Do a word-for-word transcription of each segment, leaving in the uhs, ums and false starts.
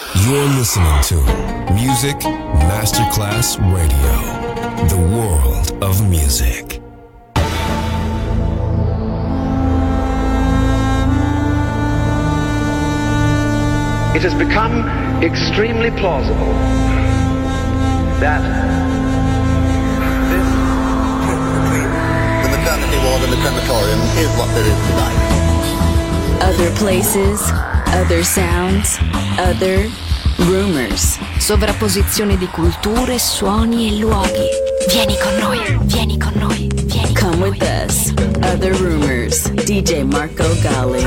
You're listening to Music Masterclass Radio, the world of music. It has become extremely plausible that this between the maternity ward and the crematorium is what there is tonight. Other places, other sounds, other rumors. Sovrapposizione di culture, suoni e luoghi. Vieni con noi, vieni con noi, vieni con Come noi. with us. Other rumors. D J Marco Gally.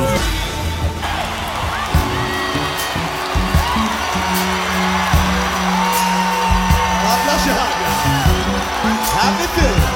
Happy feeling.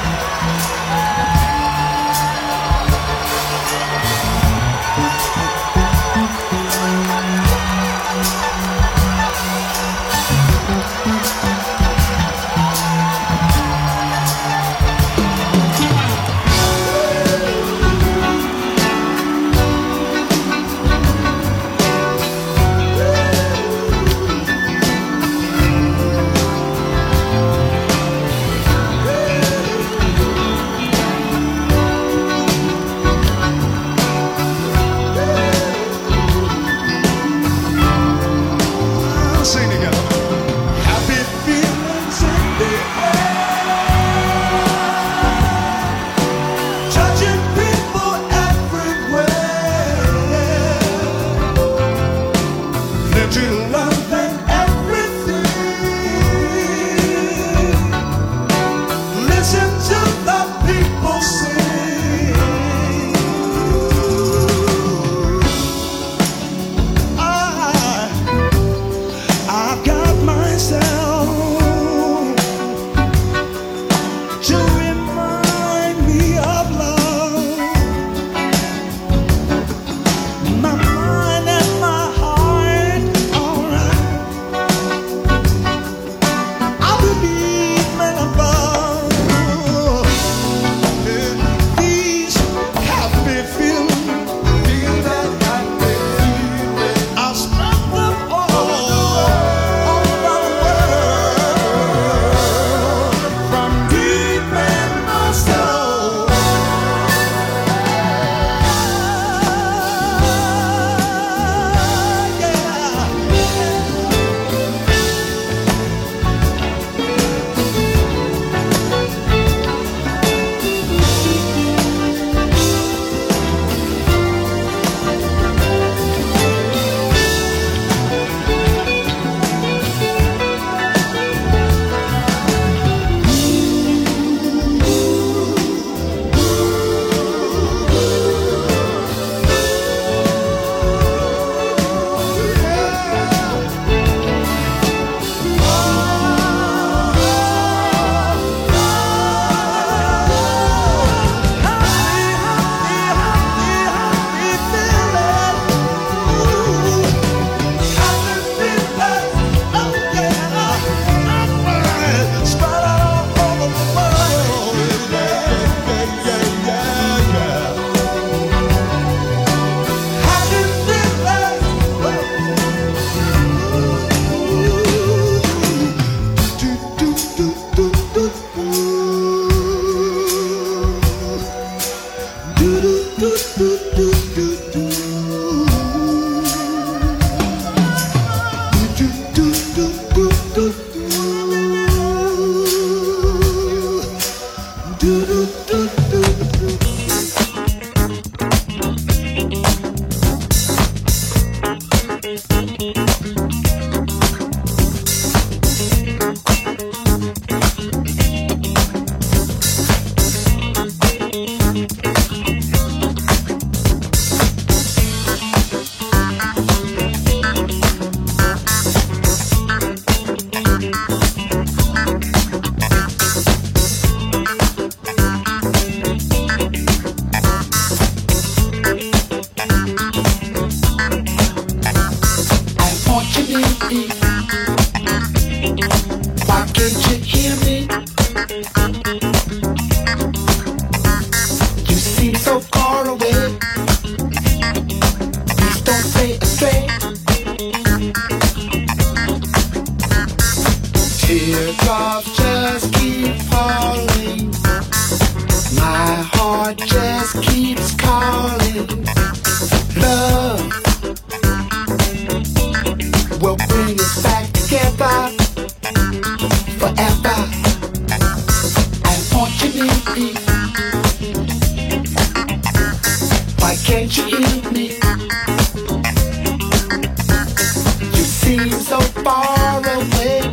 so far away.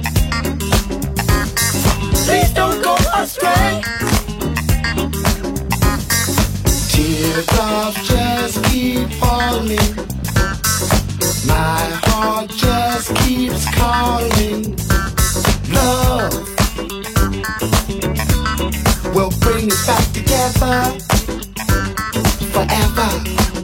Please don't go astray. Teardrops just keep falling. My heart just keeps calling. Love will bring us back together forever.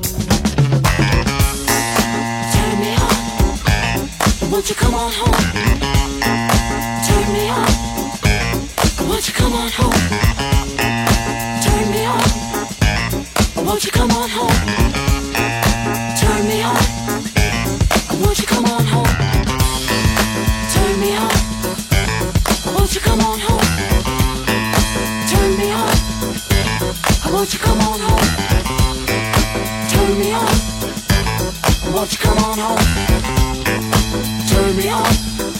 Turn me on, won't you come on home? Turn me on, won't you come on home? Turn me on, won't you come on home? Turn me on, won't you come on home? Turn me on, won't you come on home? Turn me on, won't you come on home? Turn me on, won't you come on home? Turn me on.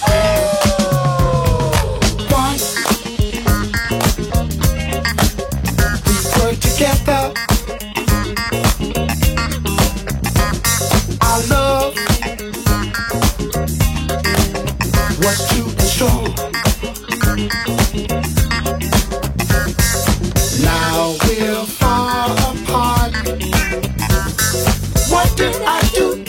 Once we were together, our love was too strong. Now we're far apart. What did I do?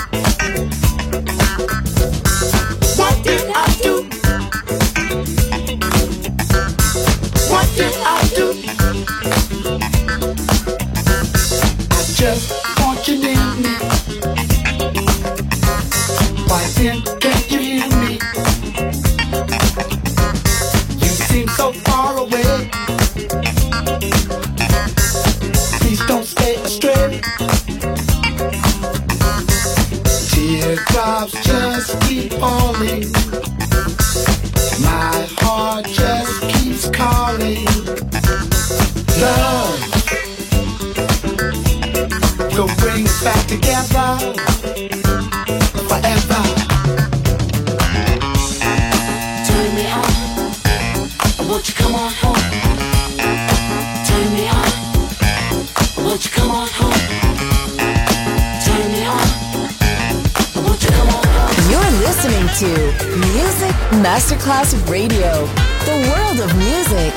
What did I do? What did I do? I just want you near me. Why then can't you hear me? You seem so far away. Please don't stay astray. Teardrops just keep falling. My heart just keeps calling. Love will bring us back together forever. Turn me on, won't you come on home? Turn me on, won't you come on home? Turn me on, won't you come on home? You're listening to Music Masterclass Radio, the world of music.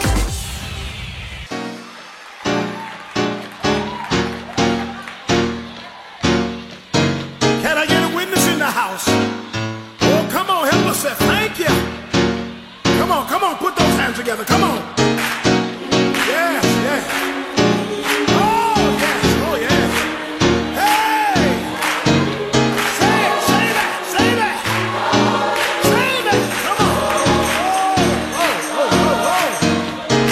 Can I get a witness in the house? Oh, come on, help us say thank you. Come on, come on, put those hands together. Come on. Yes, yes. Oh, yes, oh, yes. Hey! Say it, say that, say that. Say that, come on. Oh, oh, oh, oh, oh.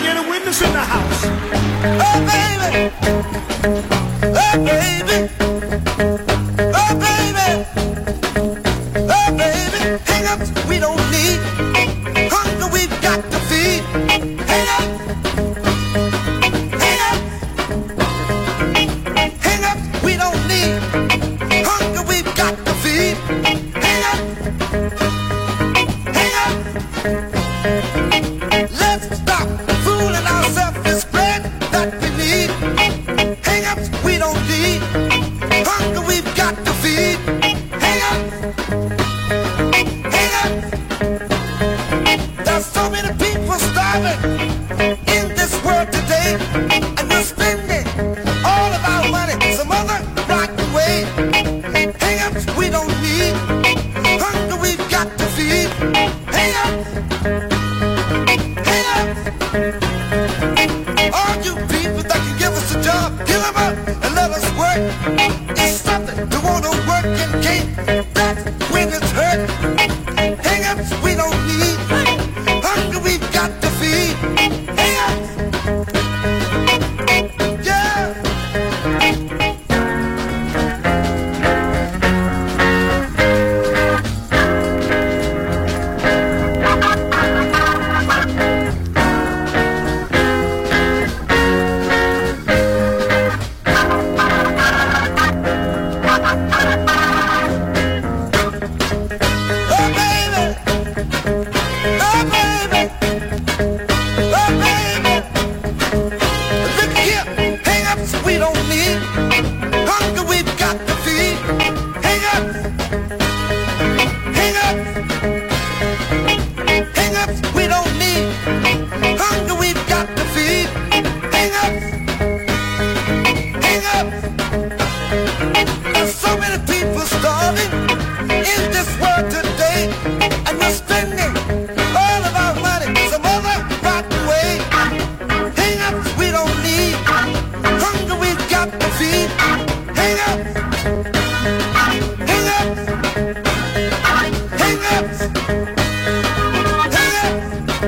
get a witness in the house? Oh, baby. Oh, baby. Oh, baby. Oh, baby. Hang-ups we don't need. Hunger we've got to feed. Hang-up. Hang-up. Hang-ups we don't need. Hunger we've got to feed. Hang-up. Hang-up. Let's stop fooling ourselves and spread that we need. Hang-ups we don't need. Hunger we've got to feed. Hang-up. Hang-up. There's so many people starving in this world today, and we're spending all of our money some other rotten way. Hang-ups we don't need. Hunger we've got to feed. Hang-ups. Hang-ups. All you people that can give us a job, give them up and let us work. It's something to want to work and can't. That's when it's hurt. Hang-ups we don't need. Hunger we've got to feed. Hang-ups. Yeah. Oh, baby. Oh, baby. Oh, baby. Look here. Hang-ups we don't need. Hunger we've got to feed. Hang-ups. Hang-ups. Hang-ups we don't need. Hunger we've got to feed. Hang-ups. Hang-ups. There's so many people starving in this world today, and we're spending all of our money some other rotten way. Hang-ups we don't need. Hunger we've got to feed. Hang-ups. Hang-ups. Hang-ups. Hang-ups.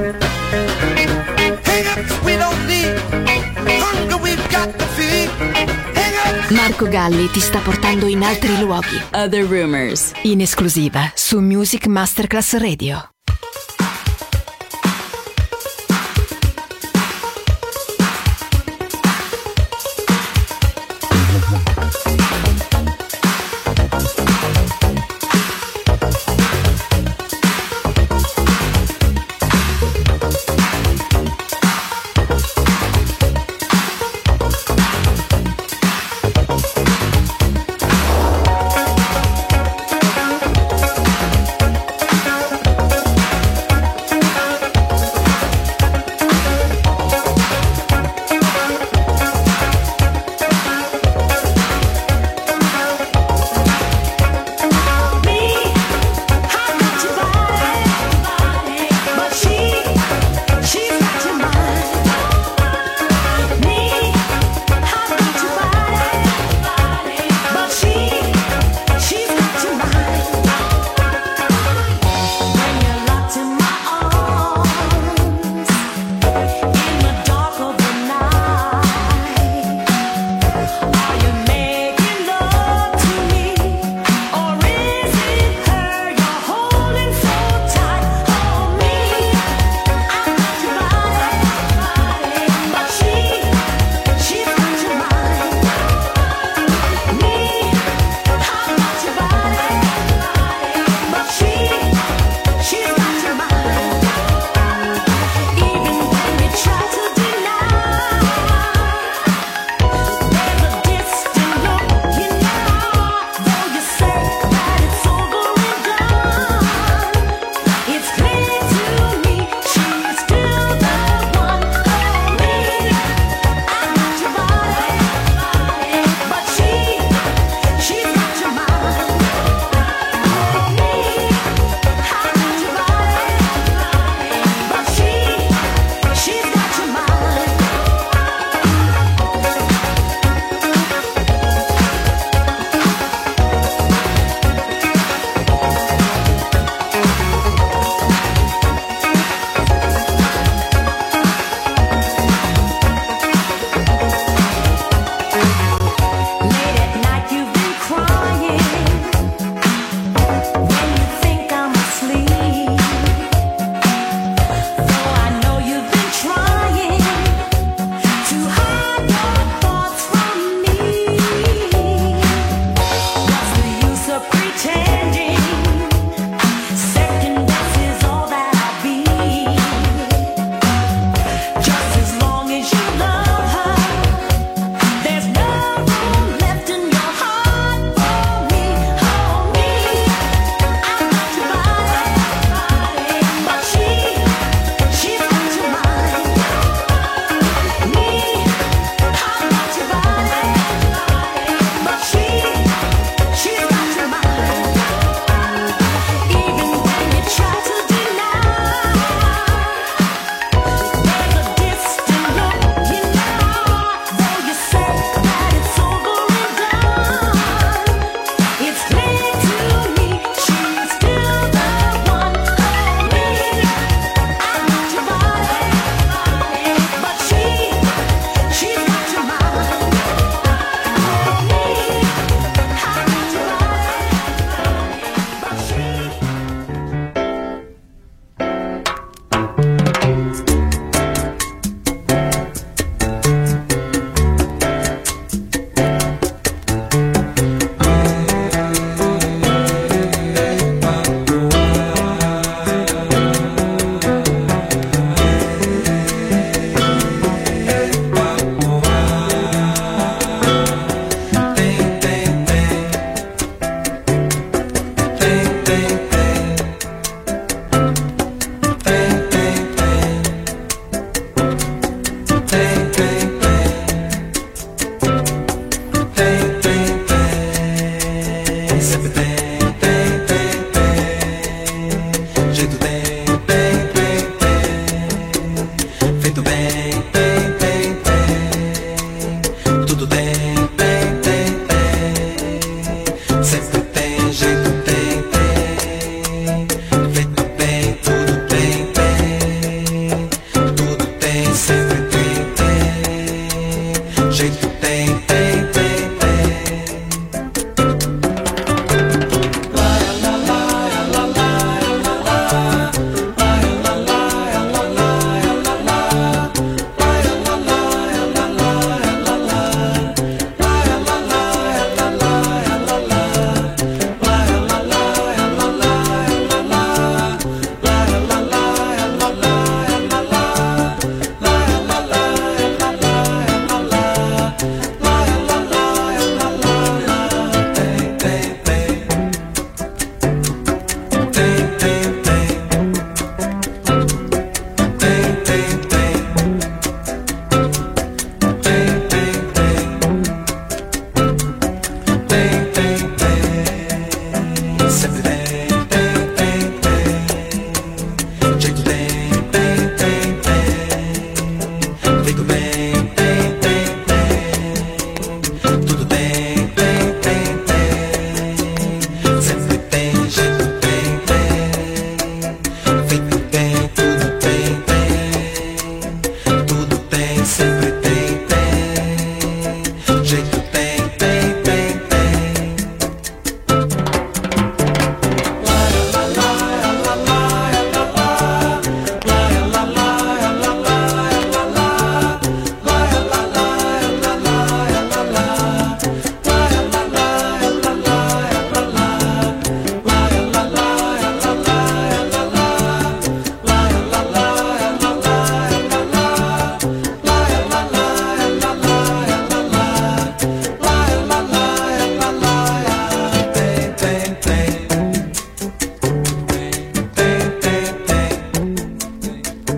Hang-ups we don't need. Hunger we've got to feed. Hang-ups. Marco Galli ti sta portando in altri luoghi. Other Rumors, in esclusiva su Music Masterclass Radio. Hang-ups.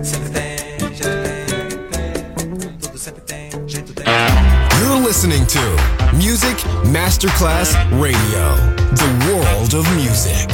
You're listening to Music Masterclass Radio, the world of music.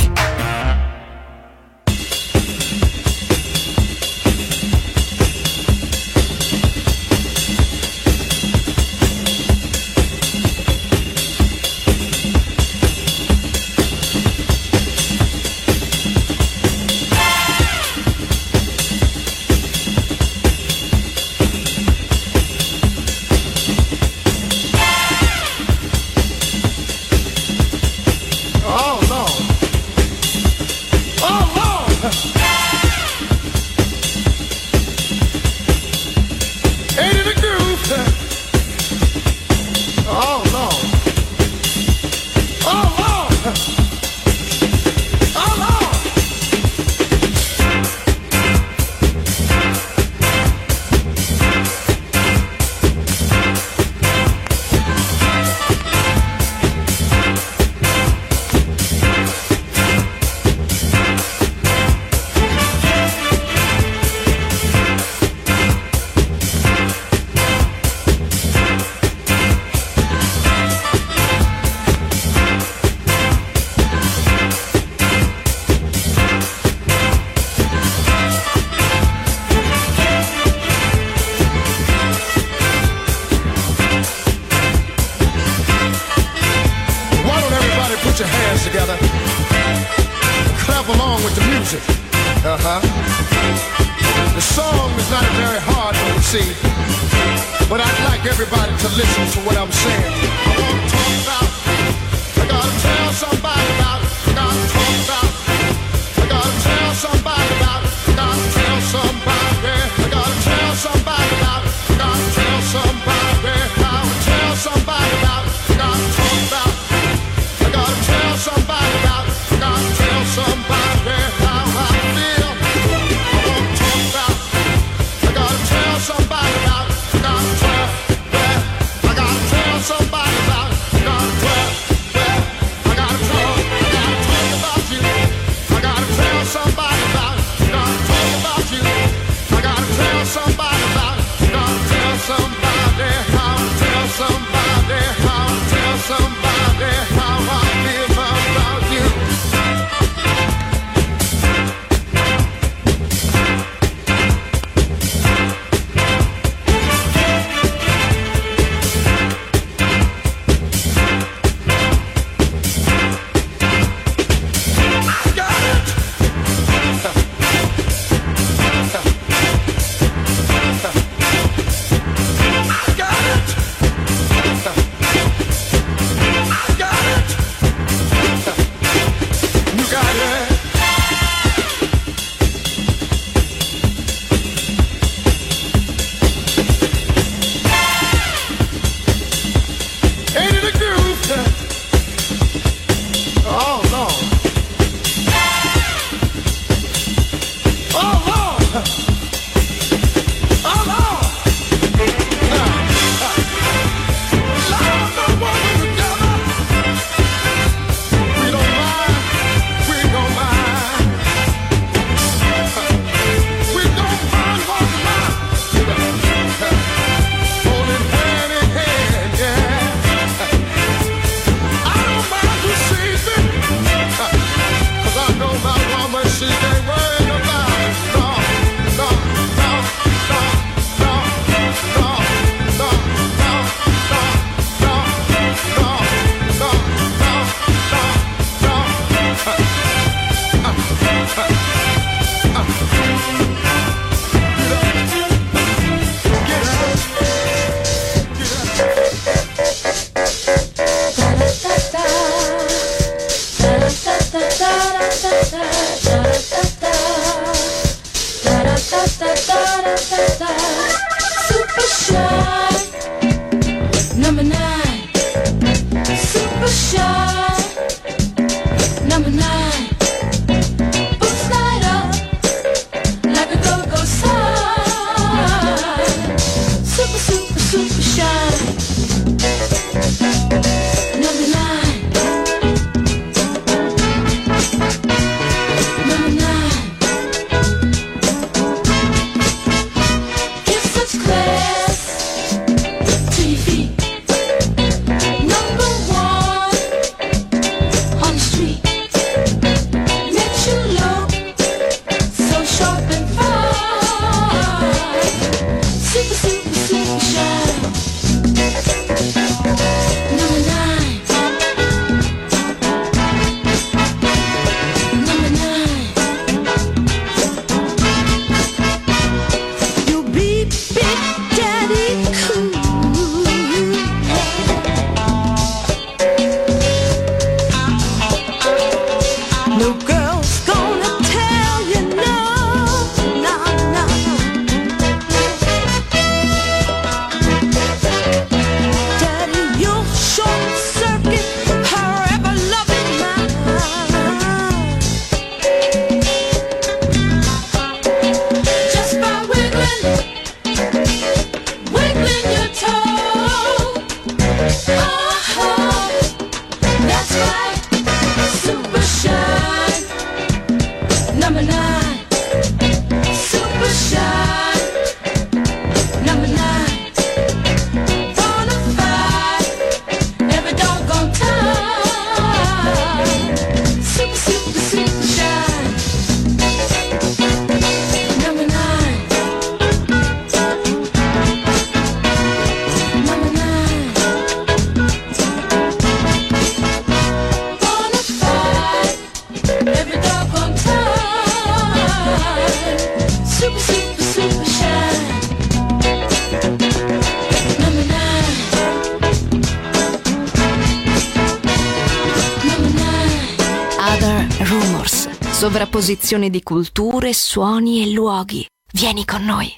sovrapposizione di culture, suoni e luoghi. Vieni con noi.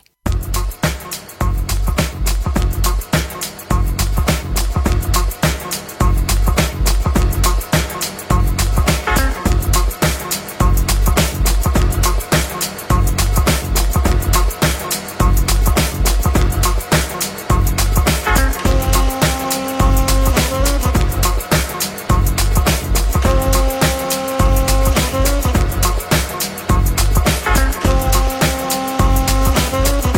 Thank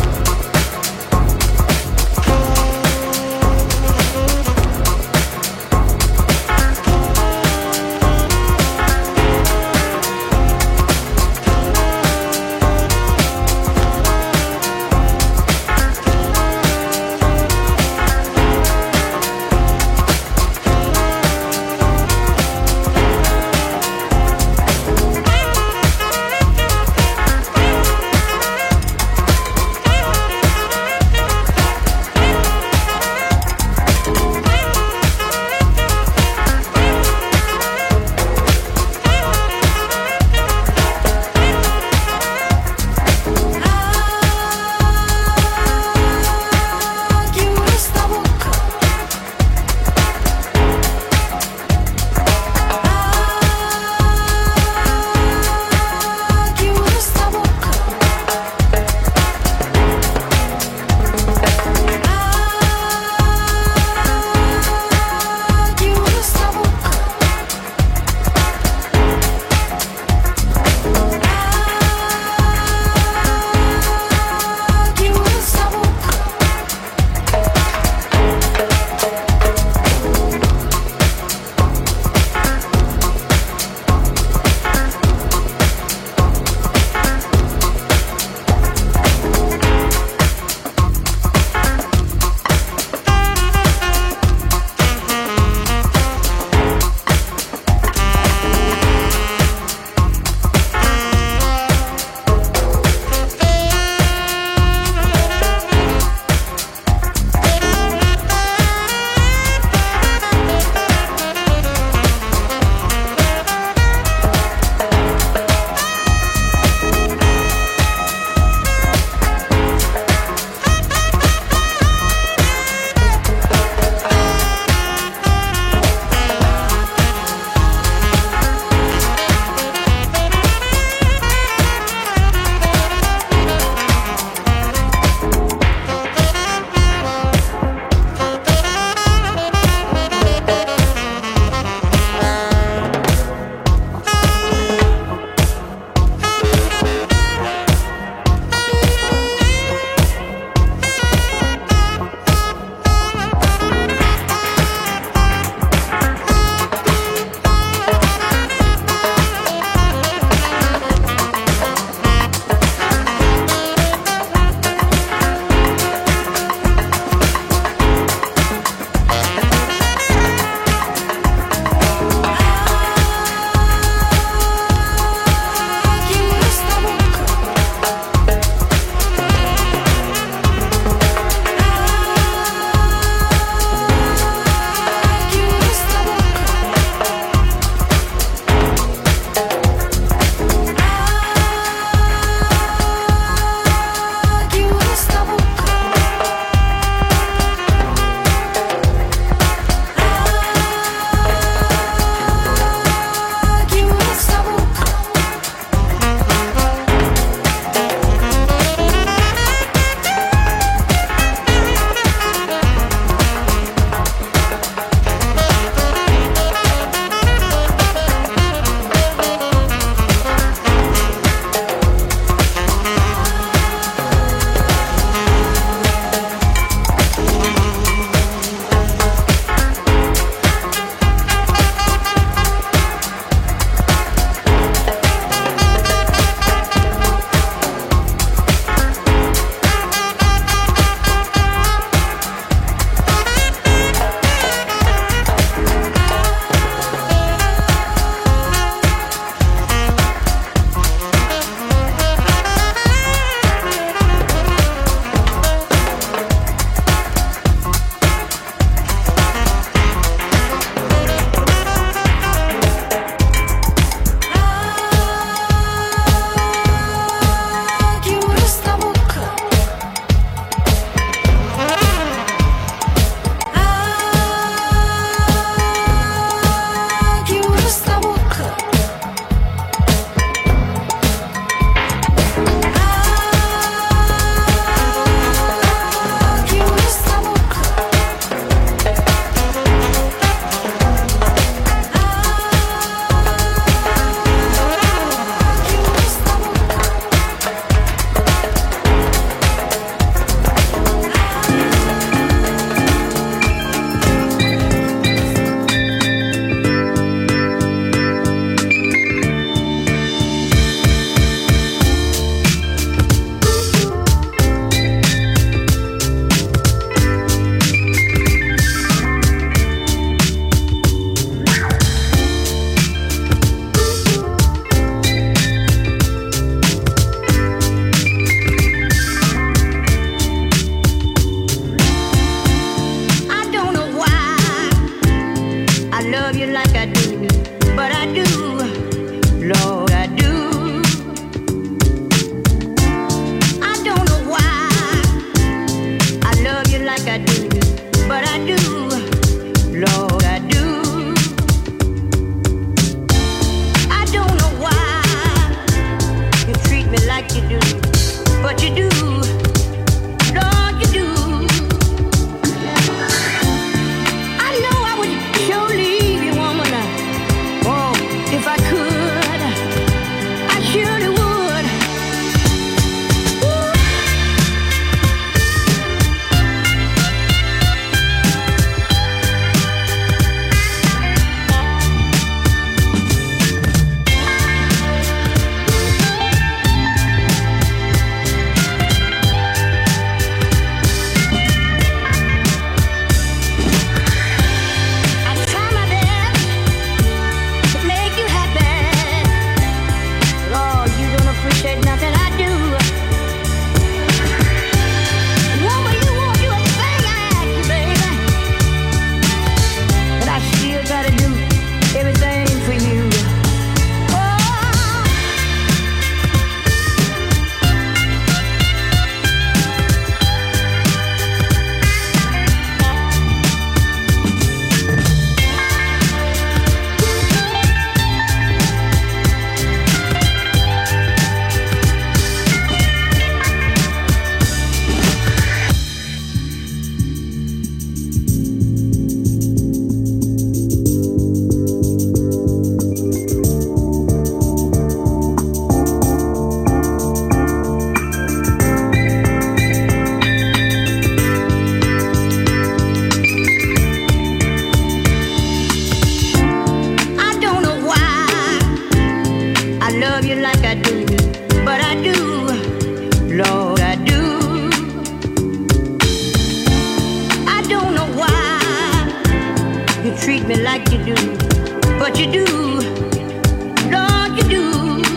what you do, Lord, you do.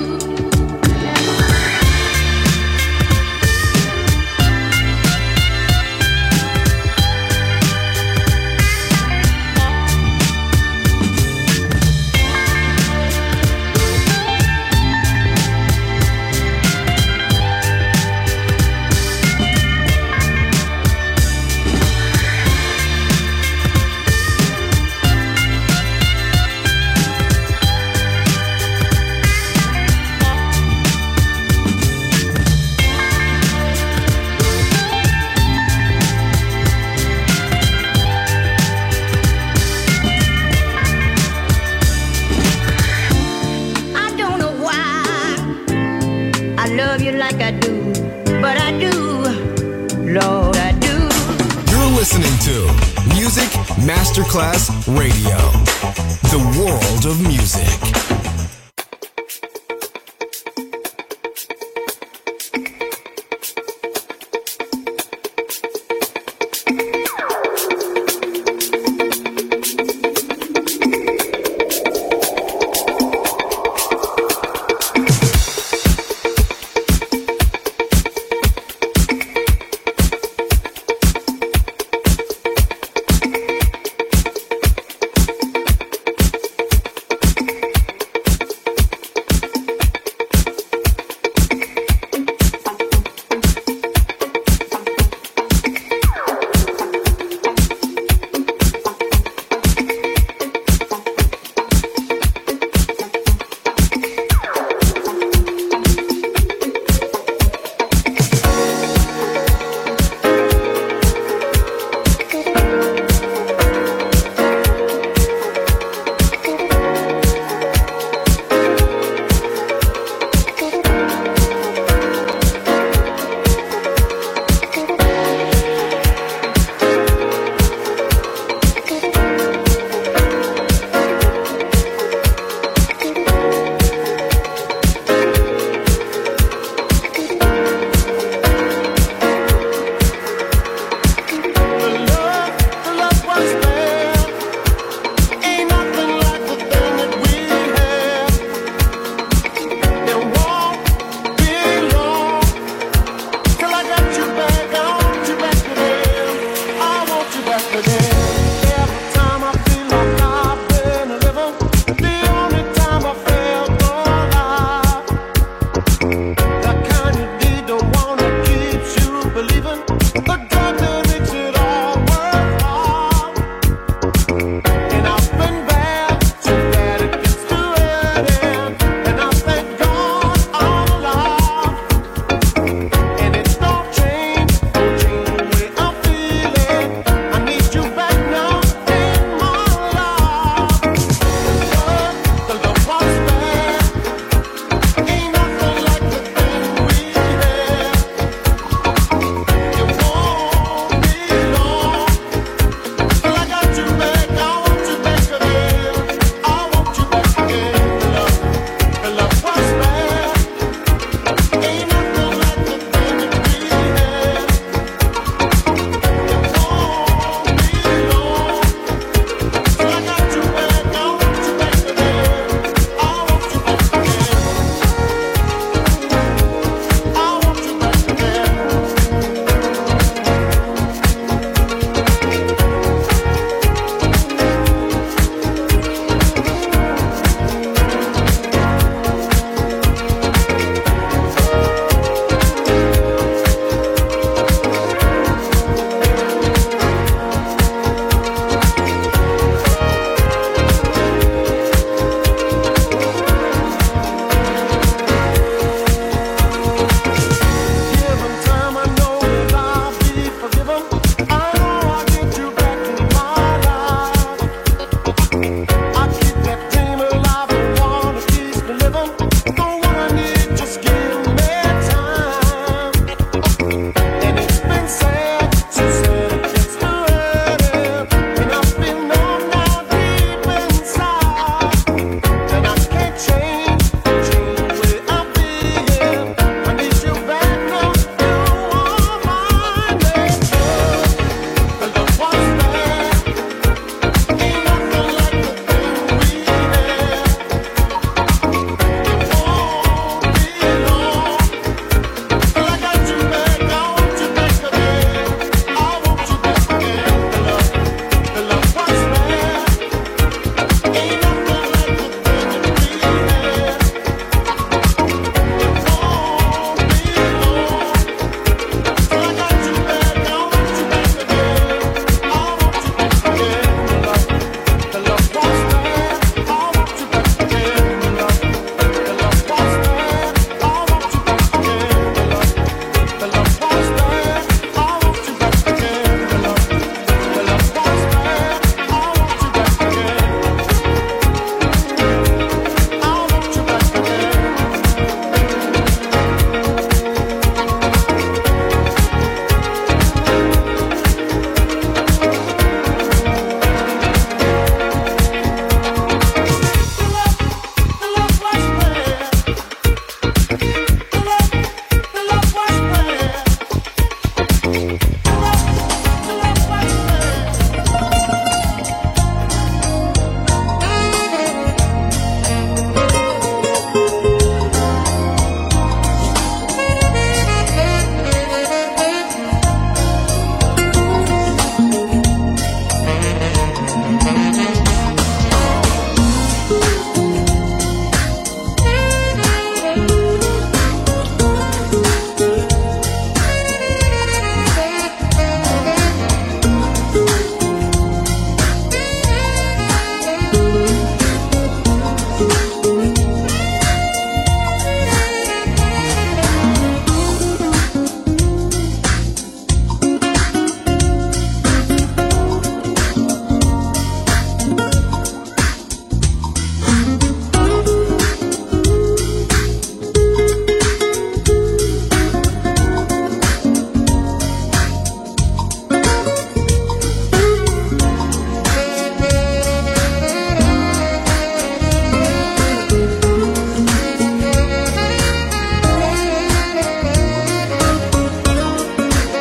Like I do, but I do, Lord, I do. You're listening to Music Masterclass Radio, the world of music.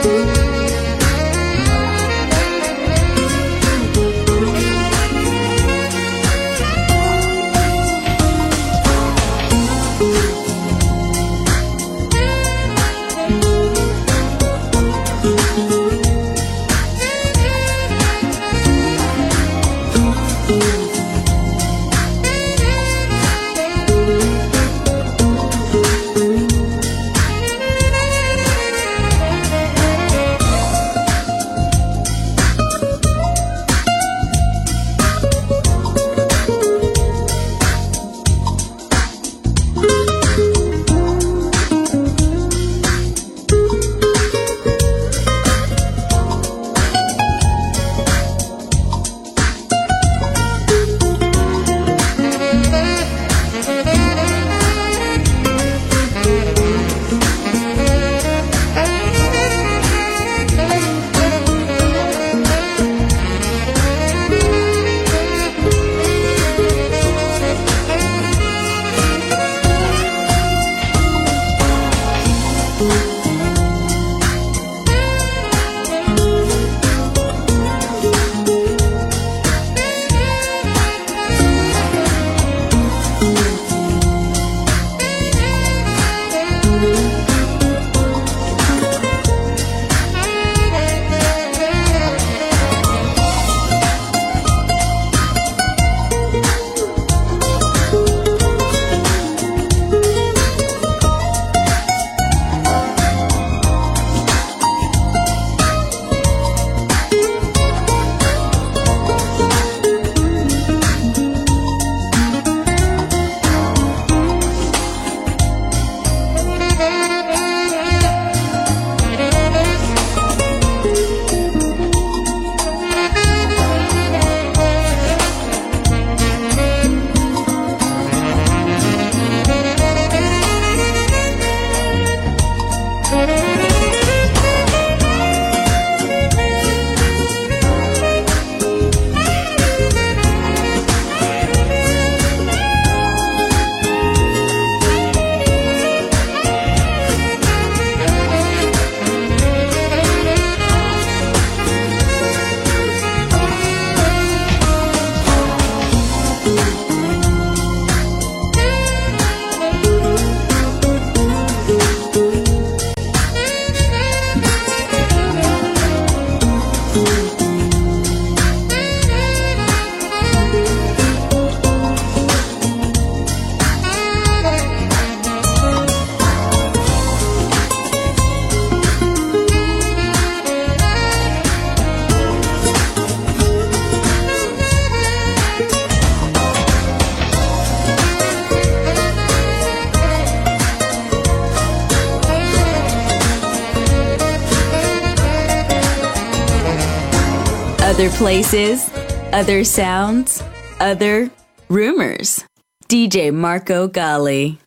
Other places, other sounds, other rumors. D J Marco Gally.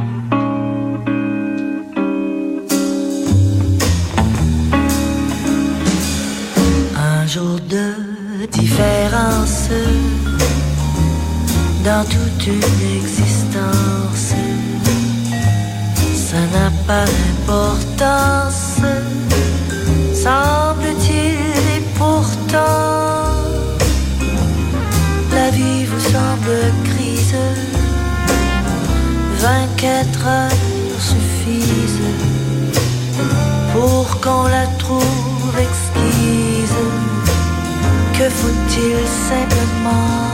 Un jour de différence dans toute une existence, ça n'a pas d'importance, semble-t-il, et pourtant la vie vous semble grise, vingt-quatre heures suffisent pour qu'on la trouve exquise. Que faut-il simplement?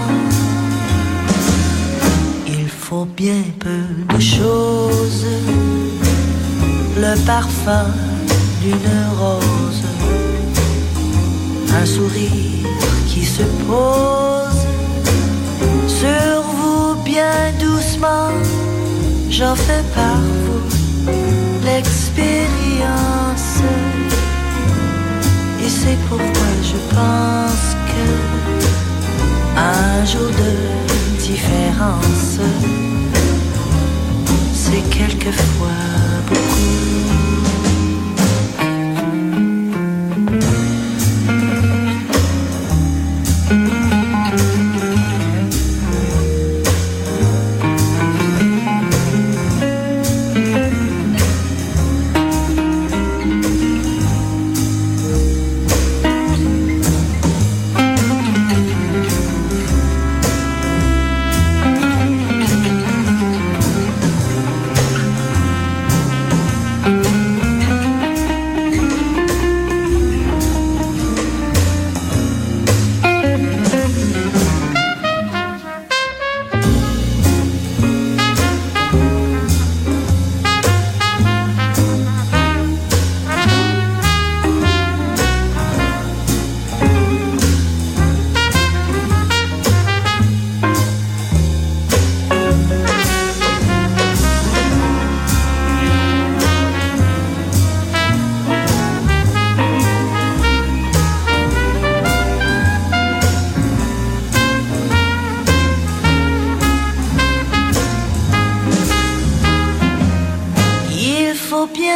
Il faut bien peu de choses, le parfum d'une rose, un sourire qui se pose sur vous bien doucement. J'en fais par vous l'expérience, et c'est pourquoi je pense que un jour de différence, c'est quelquefois beaucoup.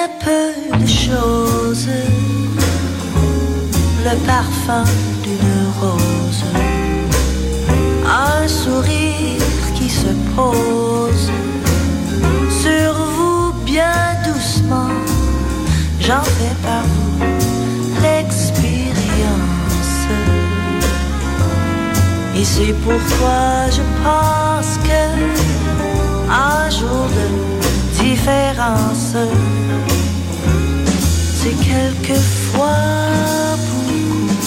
bien peu de choses, le parfum d'une rose, un sourire qui se pose sur vous bien doucement. J'en fais par vous l'expérience. Et c'est pourquoi je pense que un jour de différence, c'est quelquefois beaucoup.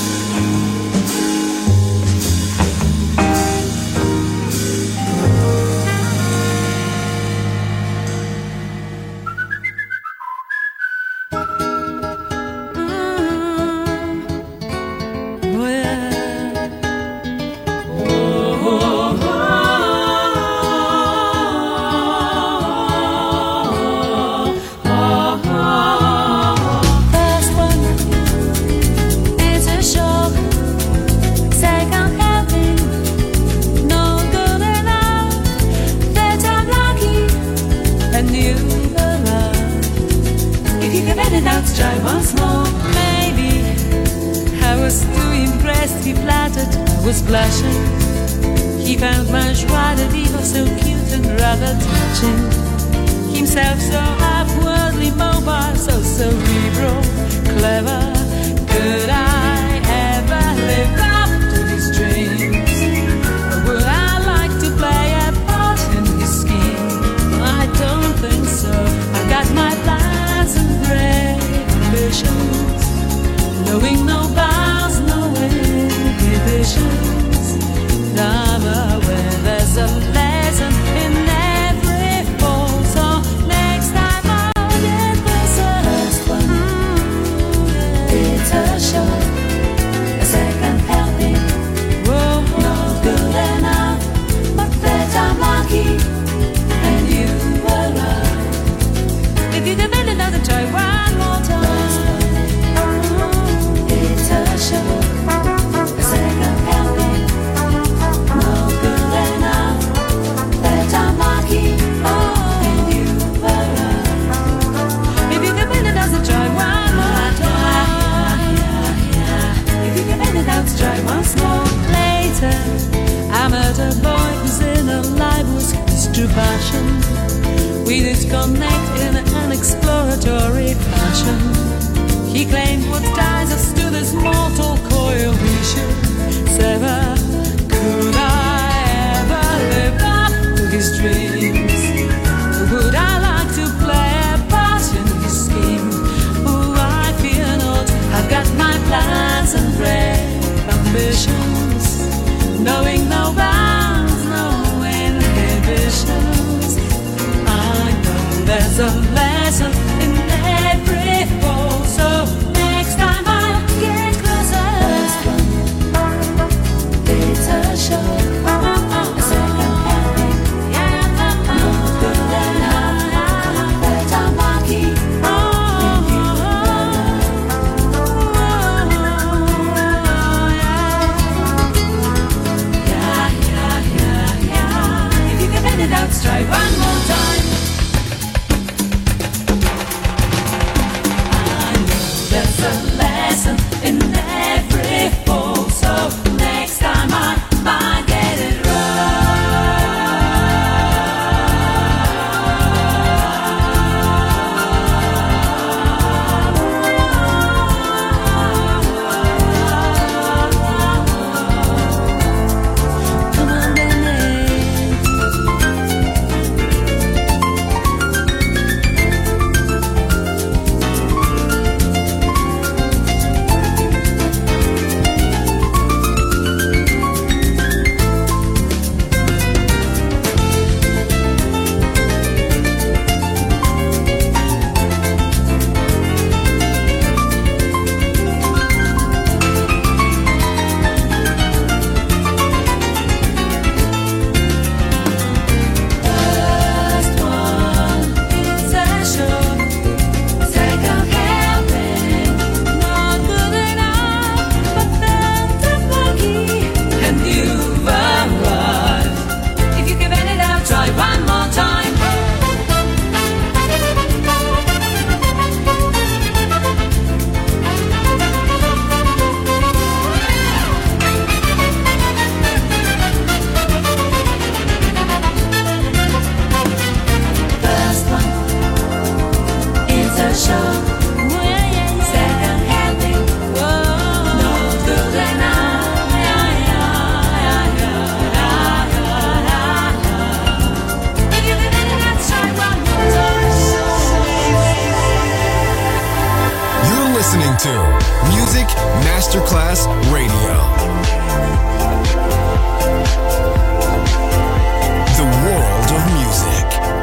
Was blushing. He found my joie de vivre so cute and rather touching. Himself so upwardly mobile, so cerebral, clever. Could I ever live up to his dreams? Or would I like to play a part in his scheme? I don't think so. I've got my plans and great ambitions, knowing no bounds, no inhibitions. I'm aware there's a lesson in every fall. So next time I'll get this first one. It's a shot, a second helping. Whoa, not good enough, but that I'm lucky and you were right. If you give it another try one more time. It's a shot. Try once more later. I met a boy who's in a life was his true passion. We did connect in an exploratory fashion. He claimed what ties us to this mortal coil we should sever. Could I ever live up to his dreams? Would I like to play a part in his scheme? Oh, I fear not. I've got my plans and prayers, ambitions, knowing no bounds, no inhibitions. I know there's a lesson in every fall. Masterclass Radio. The world of music.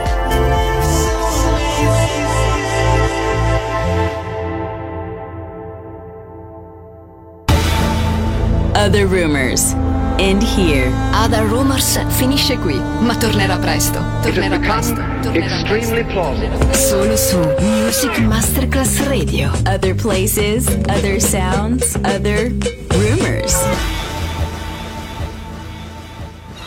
Other Rumors. End here. Other Rumors finisce qui, ma tornerà presto. Tornerà presto. Tornerà extremely plausible. Solo su Music Masterclass Radio. Other places, other sounds, other